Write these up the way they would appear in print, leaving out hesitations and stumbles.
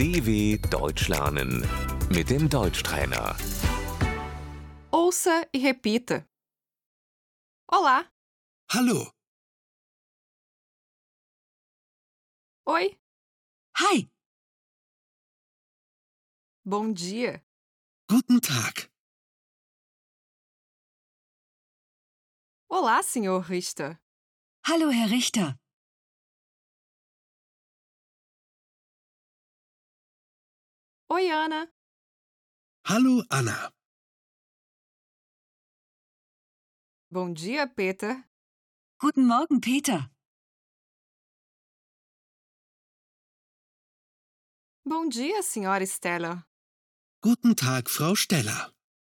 DW Deutsch lernen mit dem Deutschtrainer. Ouça e repita. Olá, Hallo, oi, Hi, bom dia, guten Tag. olá, senhor Richter. hallo Herr Richter. Oi, Ana. Hallo, Anna. Bom dia, Peter. Guten Morgen, Peter. Bom dia, senhora Stella. Guten Tag, Frau Steller.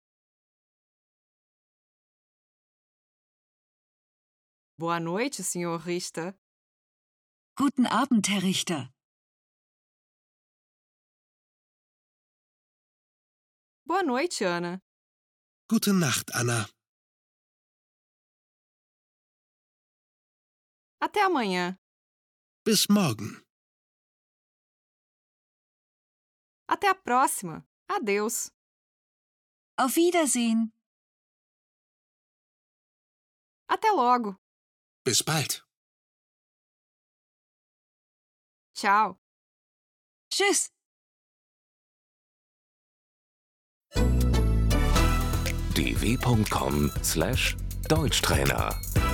Boa noite, senhor Richter. Guten Abend, Herr Richter. Boa noite, Ana. Gute Nacht, Anna. Até amanhã. Bis morgen. Até a próxima. Adeus. Auf Wiedersehen. Até logo. Bis bald. Tchau. Tschüss. dw.com/Deutschtrainer